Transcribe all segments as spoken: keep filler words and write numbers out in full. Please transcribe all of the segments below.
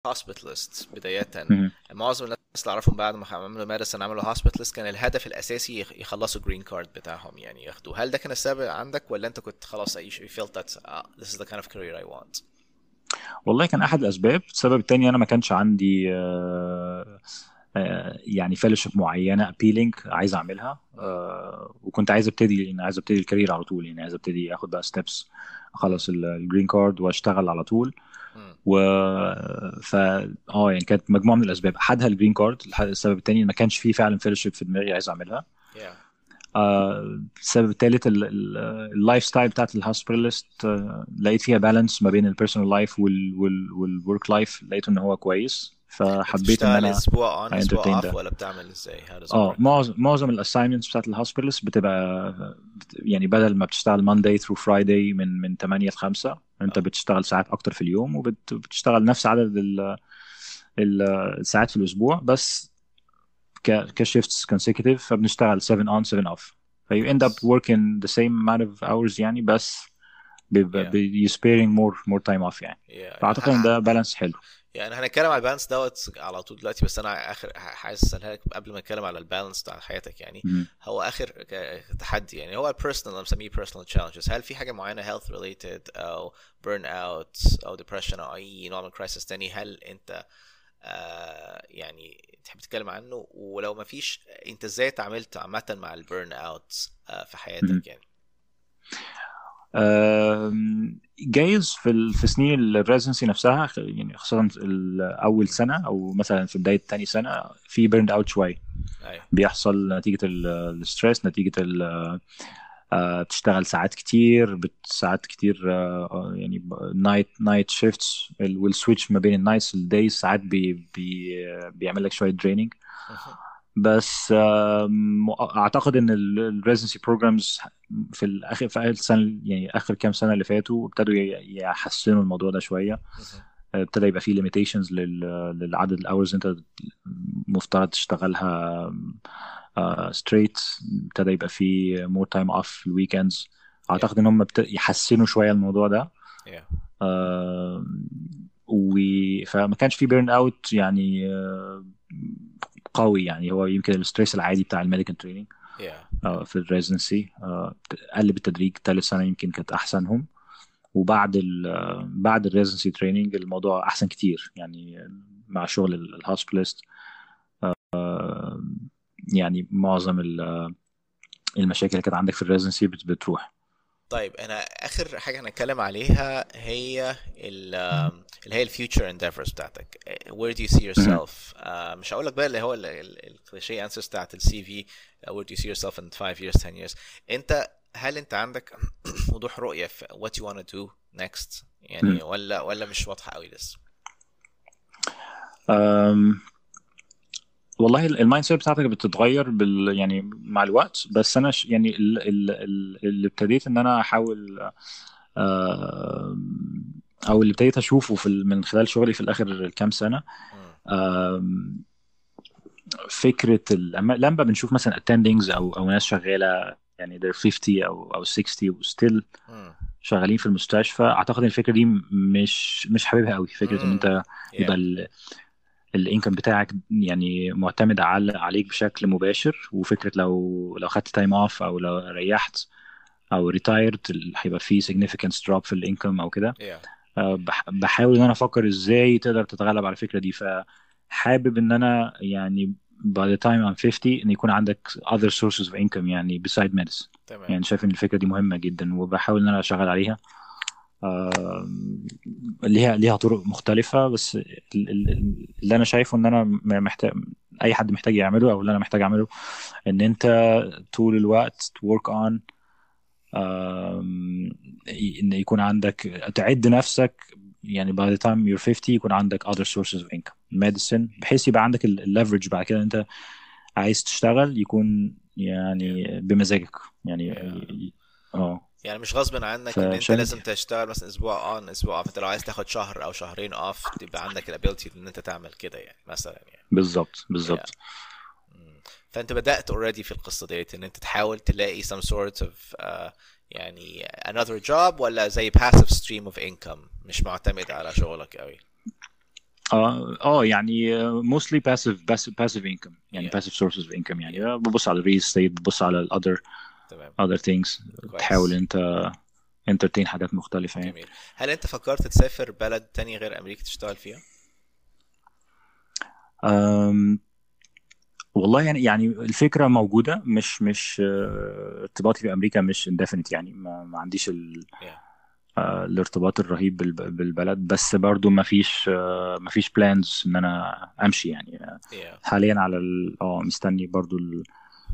هوسبيتالست بداية. مهم. معظم الناس اللي اعرفهم بعد ما عملوا ماديسن عملوا هوسبيتالست، كان الهدف الاساسي يخ- يخلصوا جرين كارد بتاعهم، يعني ياخدوه. هل ده كان السبب عندك، ولا انت كنت خلاص you you felt that uh, this is the kind of career I want؟ والله كان احد الاسباب. السبب التاني انا ما كانش عندي آه، آه، يعني فellowship معينه appealing عايز اعملها. مم. آه، وكنت عايز ابتدي، يعني عايز ابتدي الكارير على طول، يعني عايز ابتدي اخد بقى ستيبس، مم. اخلص الجرين كارد واشتغل على طول. مم. و ف اه يعني كانت مجموعه من الاسباب، احدها الجرين كارد. السبب التاني ما كانش فيه فعلا فellowship في دماغي عايز اعملها. yeah. آه، السبب الثالث اللايف ستايل بتاعت الهوسبيتالست، لقيت فيها بالانس ما بين البيرسونال لايف والورك لايف، لقيت ان هو كويس، انت فحبيت ان بتشتغل انا اسبوع on انترتين اسبوع off، ده. ولا بتعمل ازاي؟ how does it اه work؟ معظم معظم الاساينمنتس بتاعت الهوسبيتالست بتبقى بت- يعني بدل ما بتشتغل مانداي ثرو فرايداي من من ثمانية ل خمسة، انت اه. بتشتغل ساعات اكتر في اليوم، وبتشتغل نفس عدد ال- ال- الساعات في الاسبوع، بس ك كشيفتس consecutive، فبنشتغل سبعة on سبعة off. ف you end up كويس. working the same amount of hours يعني، بس بيبقى yeah. بي- you sparing more more time off يعني. yeah. فأعتقد إن ده yeah. بالانس حلو. يعني هنتكلم على البالانس دوت على طول دلوقتي، بس انا اخر حاسس اسالها لك قبل ما نتكلم على البالانس بتاع حياتك يعني. مم. هو اخر ك- تحدي يعني هو البيرسونال، انا مسميه بيرسونال تشالنجز. هل في حاجه معينه health related او burn out او depression او اي نوع من كرايسيس تاني، هل انت آه يعني تحب تتكلم عنه؟ ولو ما فيش، انت ازاي تعاملت عامه مع البيرن اوت آه في مم. حياتك يعني؟ آم، جايز في ال- في سنين الريزنسي نفسها، خ- يعني خاصة ال- أول سنة أو مثلا في بداية تاني سنة، في بيرند أوت شوية ايوه. بيحصل نتيجة الستريس، نتيجة ال- آه، بتشتغل ساعات كتير، بت ساعات كتير، آه، آه، يعني نايت نايت شيفتس، والسويتش ما بين النايتس والدايز ساعات بي بي بيعمل لك شوية دريننج. مهم. بس آم، اعتقد ان الريزنسي بروجرامز في الاخر، في اخر سنه، يعني اخر كام سنه اللي فاتوا، ابتدوا ي- يحسنوا الموضوع ده شويه. مهم. ابتدى يبقى فيه ليميتيشنز للعدد الاورز انت مفترض تشتغلها ستريت. ابتدى يبقى فيه مور تايم اوف في الويكندز. yeah. اعتقد ان هم ابت- يحسنوا شويه الموضوع ده. yeah. آه، و فما كانش في بيرن اوت يعني آه، قوي. يعني هو يمكن الستريس العادي بتاع الميديكال تريننج yeah. في الريزنسي قل بالتدريج. ثالث سنه يمكن كانت احسنهم، وبعد ال آه، بعد الريزنسي تريننج الموضوع احسن كتير يعني، مع شغل الهوسبيتالست. يعني معظم ال- المشاكل اللي كانت عندك في الريزنسي بتروح. طيب انا اخر حاجه هنتكلم عليها هي ال اللي هي الفيوتشر endeavors بتاعتك. where do you see مهم. yourself؟ آه، مش هقول لك بقى اللي هو الكليشيه انسرز بتاعت السي في where do you see yourself in five years ten years. انت هل انت عندك وضوح رؤيه في what you want to do next يعني، مهم. ولا ولا مش واضحه قوي لسه؟ أم، والله المايند سيت بتاعتك بتتغير بال يعني مع الوقت. بس انا ش... يعني ال- ال- ال- اللي ابتديت ان انا احاول، آه، او اللي ابتديت اشوفه في ال- من خلال شغلي في الاخر كام سنه، مم. آم، فكره ال- لما لما بنشوف مثلا attendings او او ناس شغاله يعني they're خمسين او او ستين وستيل مم. شغالين في المستشفى، اعتقد ان الفكره دي مش مش حاببها قوي. فكره ان مم. انت yeah. يبقى الانكم بتاعك يعني معتمد على عليك بشكل مباشر، وفكره لو لو خدت تايم اوف او لو ريحت او ريتايرد هيبقى في significant drop في الانكم او كده. yeah. آه، بح- بحاول ان انا افكر ازاي تقدر تتغلب على الفكره دي. فحابب ان انا يعني by the time I'm fifty ان يكون عندك other sources of income يعني beside medicine. تمام. يعني شايف ان الفكره دي مهمه جدا، وبحاول ان انا اشتغل عليها. آه، ليها ليها طرق مختلفة، بس ال- ال- اللي أنا شايفه إن أنا م- محتاج، أي حد محتاج يعمله، أو اللي أنا محتاج أعمله، إن أنت طول الوقت to work on، آم، إن يكون عندك تعد نفسك يعني by the time you're fifty يكون عندك other sources of income medicine، بحيث يبقى عندك الليفرج بعد كده. أنت عايز تشتغل يكون yeah. يعني بمزاجك يعني. yeah. اه يعني مش غصب عنك ان انت فشايف لازم دي تشتغل مثلا اسبوع اون اسبوع اوف. انت لو عايز تاخد شهر او شهرين اوف، تبقى عندك الابيلتي ان انت تعمل كده يعني، مثلا يعني. بالظبط yeah. بالظبط. مم. فانت بدأت already في القصة ديت ان انت تحاول تلاقي some sort of uh, يعني another job، ولا زي passive stream of income مش معتمد على شغلك قوي؟ اه اه يعني آه، mostly passive passive passive income يعني yeah passive sources of income يعني yeah آه، ببص على real estate، ببص على ال other تمام other things. تحاول كويس انت entertain حاجات مختلفة يعني. جميل. هل انت فكرت تسافر بلد تاني غير امريكا تشتغل فيها؟ أم، والله يعني يعني الفكرة موجودة، مش مش آه، ارتباطي بأمريكا مش indefinite يعني، ما, ما عنديش ال yeah آه، الارتباط الرهيب بالب- بالبلد، بس برضو ما فيش آه، ما فيش بلانز ان انا امشي يعني. آه، yeah حاليا على ال- اه مستني برضو ال-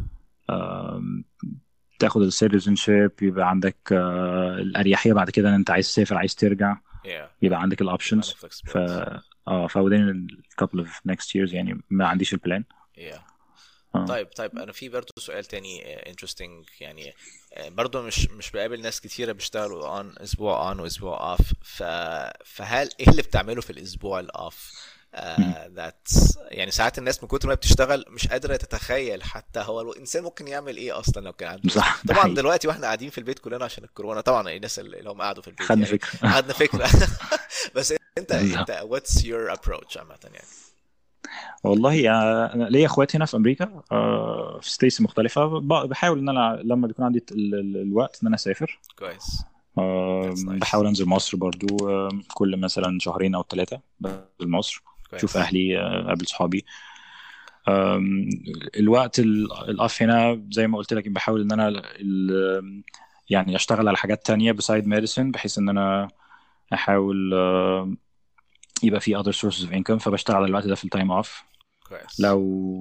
آم، تاخد السيتيزنشيب، يبقى عندك آه، الاريحيه بعد كده ان انت عايز تسافر عايز ترجع، yeah يبقى yeah عندك يبقى عندك الاوبشنز. ف flexibility اه ف within a couple of next years يعني ما عنديش البلان. yeah اه طيب طيب انا في برضه سؤال تاني آه، interesting يعني آه، برضه مش مش بقابل ناس كتيرة بيشتغلوا on اسبوع on واسبوع off ف فهل ايه اللي بتعمله في الاسبوع الاوف؟ مم. ذات يعني ساعات الناس من كتر ما بتشتغل مش قادرة تتخيل حتى هو الانسان ممكن يعمل ايه اصلا لو كان عنده اسبوع. صح، ده طبعا حقيقي. دلوقتي واحنا قاعدين في البيت كلنا عشان الكورونا، طبعا الناس اللي هم قعدوا في البيت خدنا يعني فكره. قعدنا فكرة. بس انت بالظبط. انت what's your approach عامة يعني؟ والله آه، انا ليا اخوات هنا في امريكا آه، في ستيتس مختلفه، ب- بحاول ان انا لما بيكون عندي ال- ال- الوقت ان انا اسافر. كويس آه، that's nice بحاول انزل مصر برضو آه، كل مثلا شهرين او ثلاثه بنزل مصر، اشوف كويس اهلي، آه، اقابل صحابي. آم، الوقت ال- الاف هنا زي ما قلت لك بحاول ان انا ال- يعني اشتغل على حاجات تانية بسايد ميديسن، بحيث ان انا احاول آه، يبقى في other sources of income، فبشتغل على الوقت ده في التايم اوف. كويس لو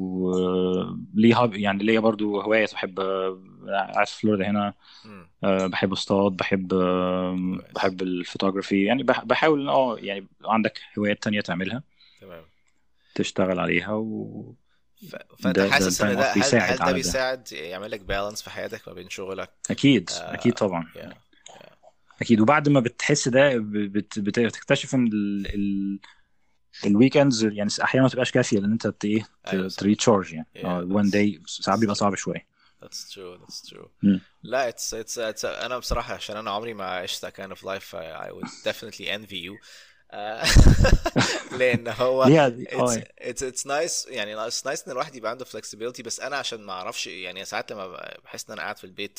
آه، ليه هاب يعني ليا برضو هواية، بحب آه، قاعد في فلوريدا هنا، امم آه، بحب اصطاد، بحب آه، كويس بحب الفوتوغرافي يعني، بح- بحاول اه يعني عندك هوايات تانية تعملها تمام. تشتغل عليها، وده ف... فانت ده حاسس ان التايم اوف ده هل بيساعد هل ده على ده. بيساعد يعمل لك بالانس في حياتك ما بين شغلك؟ اكيد اكيد آه... طبعا. يا يا اكيد، وبعد ما بتحس ده بت- بت- بتكتشف ان ال... ال... الويكندز يعني احيانا ما تبقاش كافيه لان انت ت- ايه ايوه صح. تريتشارج يعني. yeah اه وان that's داي ساعات that's بيبقى true صعب شويه. that's true that's true. مم. لا it's it's it's انا بصراحة عشان انا عمري ما عشت that kind of life I, I would definitely envy you. آه، لان هو ليها it's اه it's it's nice يعني it's nice ان الواحد يبقى عنده flexibility، بس انا عشان ما اعرفش يعني ساعات لما بحس ان انا قاعد في البيت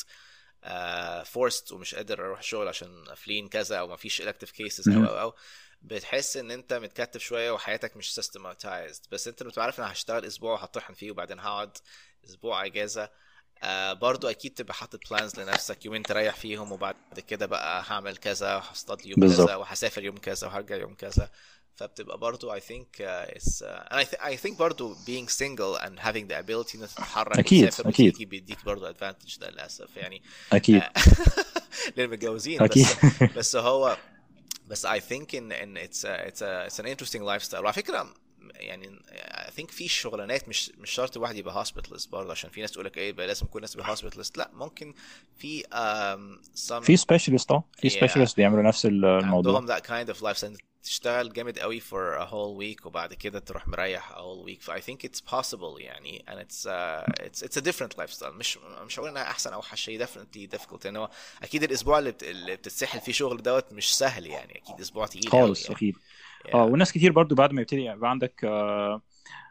آه forced ومش قادر اروح الشغل عشان قافلين كذا او ما فيش elective cases او مهم. او او بتحس ان انت متكتف شويه وحياتك مش systematized، بس انت بتبقى عارف ان انا هشتغل اسبوع وهطحن فيه وبعدين هقعد اسبوع اجازه. آه برضو اكيد تبقى حاطط بلانز لنفسك، يومين تريح فيهم وبعد كده بقى هعمل كذا وهصطاد يوم كذا بالظبط. وهسافر يوم كذا وهرجع يوم كذا. فبتبقى برضو I think uh, it's uh, and I, th- I think برضو being single and having the ability انك تتحرك اكيد وتسافر اكيد وتيجي بيديك برضو advantage ده للأسف يعني. اكيد آه، للمتجوزين اكيد. بس. بس هو بس I think in in it's a, it's a, it's an interesting lifestyle. وعلى فكرة يعني I think في شغلانات مش مش شرط الواحد يبقى hospitalist برضه، عشان في ناس تقول لك ايه بقى لازم كل الناس تبقى hospitalist. لا ممكن في um, في some سبيشالست اه في yeah سبيشالست بيعملوا نفس الموضوع. عندهم that kind of life and تشتغل جامد قوي for a whole week وبعد كده تروح مريح a whole week. ف I think it's possible يعني and it's uh, it's it's a different lifestyle. مش مش هقول انها احسن او اوحش شيء، definitely difficult لان هو اكيد الاسبوع اللي, بت... اللي بتتسحل فيه شغل دوت مش سهل يعني، اكيد اسبوع تقيل قوي خالص يعني. اكيد. اه yeah وناس كتير برضو بعد ما يبتدي يبقى عندك آه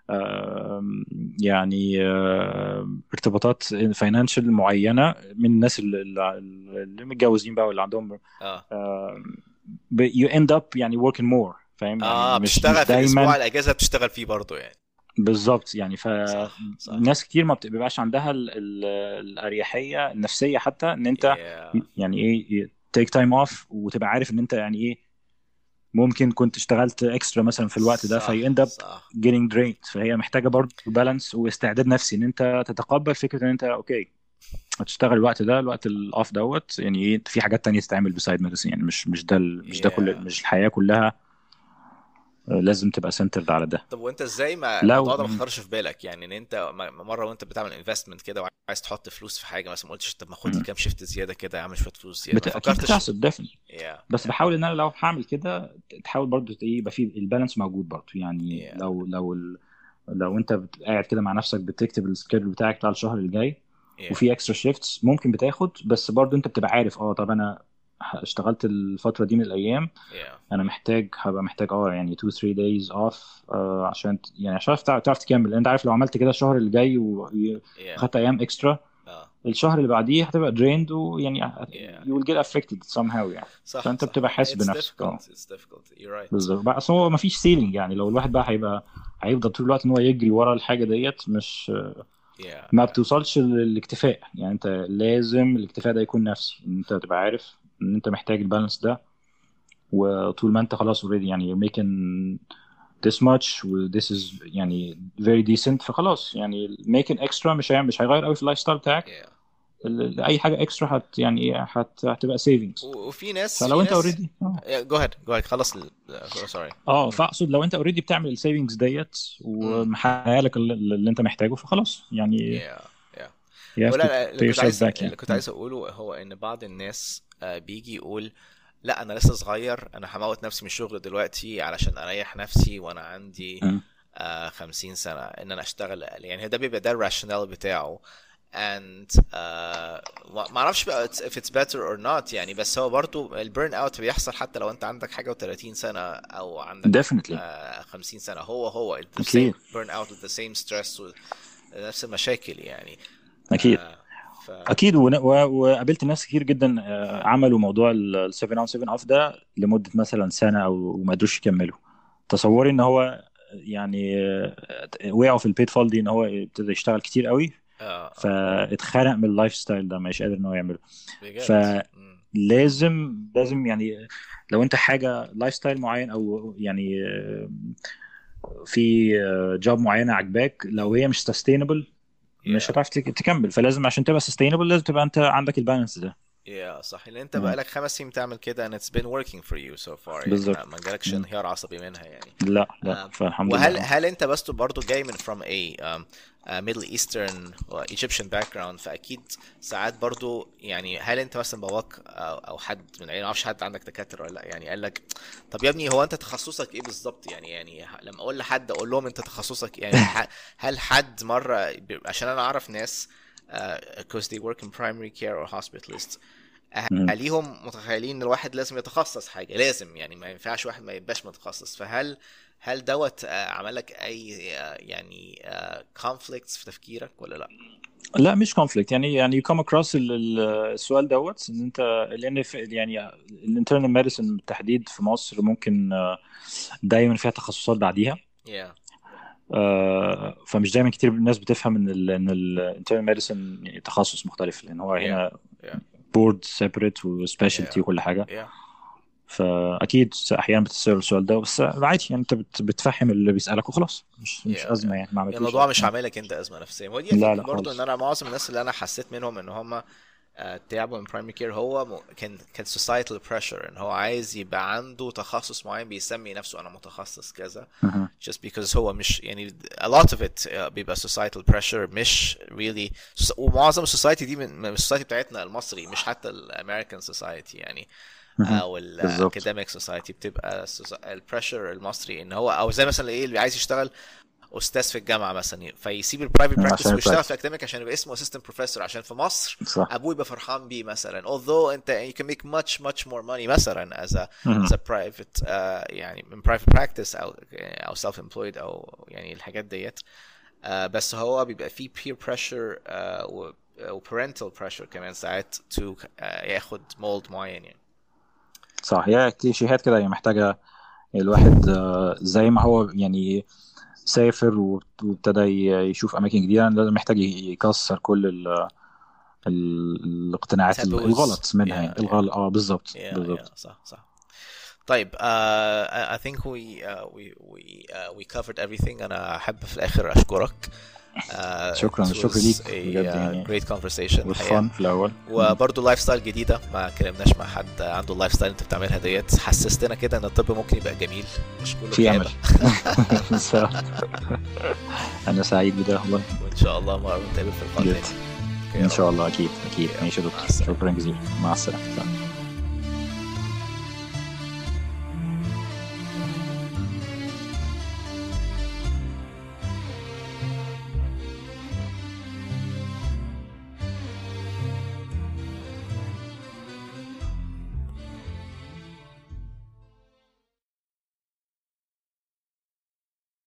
آه يعني آه ارتباطات فاينانشال معينه من الناس اللي, اللي متجوزين بقى واللي عندهم اه آه you end up يعني working more، فاهم يعني اه مش مش بتشتغل في دايما. الاسبوع الاجازه بتشتغل فيه برضه يعني. بالظبط يعني صح صح فناس كتير ما بتبقاش عندها ال ال الأريحية النفسية حتى ان انت yeah يعني ايه take time off، وتبقى عارف ان انت يعني ايه ممكن كنت اشتغلت اكسترا مثلا في الوقت ده في صح end up صح getting drained. فهي محتاجة برضه بالانس واستعداد نفسي ان انت تتقبل فكرة ان انت اوكي هتشتغل الوقت ده الوقت الاوف دوت يعني ايه في حاجات تانية تتعمل بسايد ميديسين يعني مش مش ده ال- مش ده كل yeah. مش الحياة كلها آه، لازم تبقى سنترد على ده. طب وانت ازاي ما لو الموضوع ده ما خطرش في بالك يعني ان انت م- مره وانت بتعمل انفستمنت كده وعايز تحط فلوس في حاجه مثلا ما قلتش طب ما خد لي مم. كام شيفت زياده كده اعمل شويه فلوس زياده بت... ما اكيد فكرتش؟ بتحصل ديفنتلي. yeah بس yeah بحاول ان انا لو هعمل كده تحاول برضو ت- ايه يبقى في البالانس موجود برضو يعني. yeah لو لو ال... لو انت بت- قاعد كده مع نفسك بتكتب السكيدول بتاعك بتاع الشهر الجاي yeah وفي اكسترا شيفتس ممكن بتاخد، بس برضو انت بتبقى عارف اه طب انا اشتغلت الفتره دي من الايام yeah انا محتاج هبقى محتاج اه يعني two three days off آه عشان ت- يعني عشان تعرف تعرف تكمل. انت عارف لو عملت كده الشهر اللي جاي yeah وخدت ايام اكسترا اه الشهر اللي بعديه هتبقى drained ويعني yeah you will get affected somehow يعني. صح فانت صح بتبقى حاسس it's بنفسك. اه difficult it's difficult you're right بالظبط بقى. اصل هو مفيش سيلينج يعني. لو الواحد بقى هيبقى هيفضل طول الوقت ان هو يجري ورا الحاجه ديت مش yeah ما yeah بتوصلش للاكتفاء يعني. انت لازم الاكتفاء ده يكون نفسي ان انت تبقى عارف ان انت محتاج البالانس ده. وطول ما انت خلاص اوريدي يعني you're making this much و this is يعني very decent فخلاص يعني making extra مش هي- مش هيغير قوي في اللايف ستايل بتاعك. yeah ال- اي حاجه اكسترا هت يعني ايه هت هتبقى savings. و- وفي ناس فلو في انت ناس اوريدي اه yeah, go ahead go ahead خلص ال... uh, sorry اه فاقصد لو انت اوريدي بتعمل السيفنجز ديت امم ومحقق لك اللي, اللي انت محتاجه فخلاص يعني yeah yeah you have ولا to لا، اللي pay كنت yourself عايز back اللي يعني. كنت م. عايز اقوله هو ان بعض الناس آه، بيجي يقول لا انا لسه صغير، انا هموت نفسي من الشغل دلوقتي علشان اريح نفسي وانا عندي م. آه خمسين سنة ان انا اشتغل اقل. يعني ده بيبقى ده الراشونال بتاعه and uh, ما اعرفش بقى it's- if it's better or not يعني. بس هو برضو البيرن اوت بيحصل حتى لو انت عندك حاجة و30 سنة او عندك definitely آه خمسين سنة. هو هو the اكيد same burn out with the same stress ونفس المشاكل يعني. اكيد آه ف اكيد. ون- و- وقابلت ناس كتير جدا آه، عملوا موضوع ال سبعة on سبعة off ده لمده مثلا سنه او ما قدروش يكملوا. تصوري ان هو يعني آه، وقعوا في البيت فول دي ان هو ابتدى يشتغل كتير قوي اه اه فاتخنق من اللايف ستايل ده مش قادر ان هو يعمله. بجد. مم. فلازم لازم يعني لو انت حاجه لايف ستايل معين او يعني آه، في جوب معينه عجباك لو هي مش سستينبل مش yeah هتعرف تك- تكمل. فلازم عشان تبقى سستينبل لازم تبقى انت عندك البالانس ده. yeah صح. لان انت مم. بقالك خمس سنين بتعمل كده and it's been working for you so far يعني. بالظبط. ما ما جالكش مم. انهيار عصبي منها يعني. لا لا آم، فالحمد لله. وهل اه هل انت بس برضو جاي من from a um, uh, Middle Eastern و Egyptian background، فاكيد ساعات برضو يعني هل انت مثلا باباك او, أو حد من العيله، ما اعرفش حد عندك دكاتره ولا لا، يعني قال لك طب يا ابني هو انت تخصصك ايه بالظبط؟ يعني يعني ه- لما اقول لحد اقول لهم انت تخصصك يعني ح- هل حد مره ب- عشان انا اعرف ناس uh, because they work in primary care or hospitalists مم. اهاليهم متخيلين ان الواحد لازم يتخصص حاجه، لازم يعني ما ينفعش واحد ما يبقاش متخصص. فهل هل دوت آه، عمل لك اي آه، يعني كونفليكتس في تفكيرك ولا لا؟ لا مش كونفليكت يعني يعني you come across ال- ال- السؤال دوت ان انت لان في يعني الانترنال ميديسن بالتحديد في مصر ممكن آه، دايما فيها تخصصات بعديها. yeah آه، فمش دايما كتير الناس بتفهم ان ال ان الانترنال ميديسن تخصص مختلف لان هو yeah هنا yeah بورد سيبريت وسبيشالتي yeah وكل حاجه. yeah فاكيد احيانا بتسال السؤال ده بس عادي يعني انت بت- بتفهم اللي بيسالك وخلاص مش yeah مش ازمه yeah يعني ما يعني عملتوش الموضوع حاجه. مش عامل لك انت ازمه نفسيه. ودي لا اثينك لا برضو ان خالص. انا معظم الناس اللي انا حسيت منهم ان هم آه، تعبوا من برايمري كير هو م... كان كان societal pressure ان هو عايز يبقى عنده تخصص معين بيسمي نفسه انا متخصص كذا مهم. just because هو مش يعني a lot of it uh, بيبقى societal pressure مش really. ومعظم السوسايتي دي من من السوسايتي بتاعتنا المصري، مش حتى الامريكان سوسايتي يعني مهم. او بالظبط. الاكاديميك سوسايتي. بتبقى البريشر المصري ان هو او زي مثلا ايه اللي عايز يشتغل استاذ في الجامعه مثلا فيسيب البرايفت براكتس عشان ويشتغل البراكتس في اكاديميك عشان يبقى اسمه اسيستنت بروفيسور. عشان في مصر صح. ابوه يبقى فرحان بيه مثلا although انت you can make much much more money مثلا as a مهم. as a private uh, يعني من private practice او او self employed او يعني الحاجات ديت. uh, بس هو بيبقى فيه peer pressure uh, و و parental pressure كمان ساعات to uh, ياخد mold معين يعني. صح. هي كليشيهات كده هي محتاجه الواحد آه، زي ما هو يعني سافر وابت- وابتدى ي- يشوف اماكن جديده لازم محتاج ي- يكسر كل ال ال الاقتناعات ال- taboos الغلط منها يعني yeah yeah الغلط. اه بالظبط yeah بالظبط. yeah صح صح. طيب uh, I I think we uh, we we uh, we covered everything. أنا أحب في الآخر أشكرك. Uh, شكرا it الشكر was ليك a بجد uh, يعني great conversation was الحقيقة. fun في الاول. وبرضه لايف ستايل جديدة ما كلمناش مع حد عنده اللايف ستايل انت بتعملها ديت. حسستنا كده ان الطب ممكن يبقى جميل مش كله في امل. كآبة. انا سعيد بده والله. وإن شاء الله مرة نتقابل في اللقاء جد. تاني. أوكي يا ان رب. شاء الله اكيد اكيد. أوكي، ماشي يا مع دكتور السلامة. شكرا جزيلا مع السلامه.